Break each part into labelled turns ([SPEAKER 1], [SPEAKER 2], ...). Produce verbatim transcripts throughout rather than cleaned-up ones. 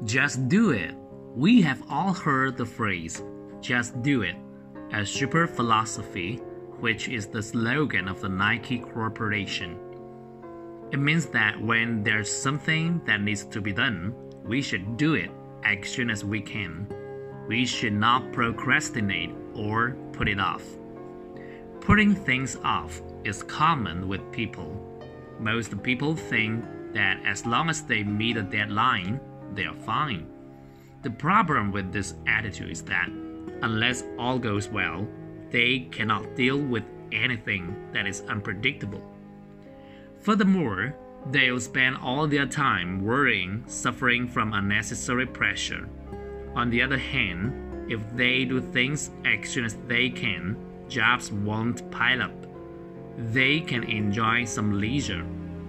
[SPEAKER 1] Just do it. We have all heard the phrase, just do it, a super philosophy, which is the slogan of the Nike Corporation. It means that when there's something that needs to be done, we should do it as soon as we can. We should not procrastinate or put it off. Putting things off is common with people. Most people think that as long as they meet a deadline, they are fine. The problem with this attitude is that unless all goes well, they cannot deal with anything that is unpredictable. Furthermore, they'll spend all their time worrying, suffering from unnecessary pressure. On the other hand, if they do things as soon as they can, jobs won't pile up. They can enjoy some leisure.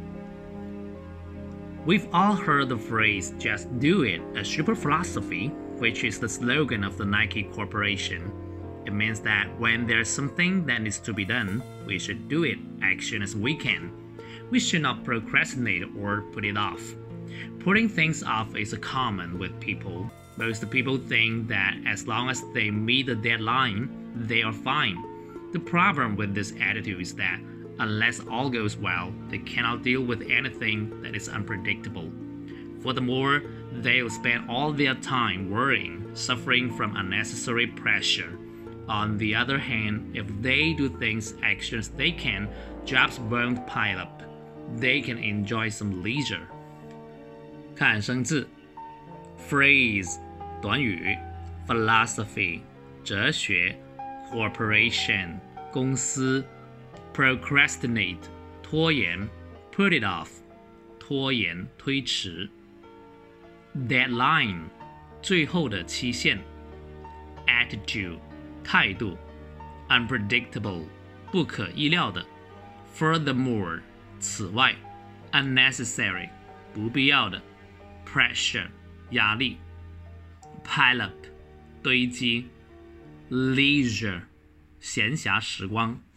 [SPEAKER 1] We've all heard the phrase, just do it, a super philosophy, which is the slogan of the Nike Corporation. It means that when there's something that needs to be done, we should do it as soon as we can. We should not procrastinate or put it off. Putting things off is common with people. Most people think that as long as they meet the deadline, they are fine. The problem with this attitude is that unless all goes well, they cannot deal with anything that is unpredictable. Furthermore, they'll spend all their time worrying, suffering from unnecessary pressure. On the other hand, if they do things as soon as they can, jobs won't pile up. They can enjoy some leisure. 看生字 Phrase 短语 Philosophy 哲学 Corporation 公司 Procrastinate 拖延 Put it off 拖延推迟 Deadline 最后的期限 Attitude 态度 Unpredictable 不可意料的 Furthermore 此外 Unnecessary 不必要的 Pressure 压力 Pile up 堆积 Leisure 闲暇时光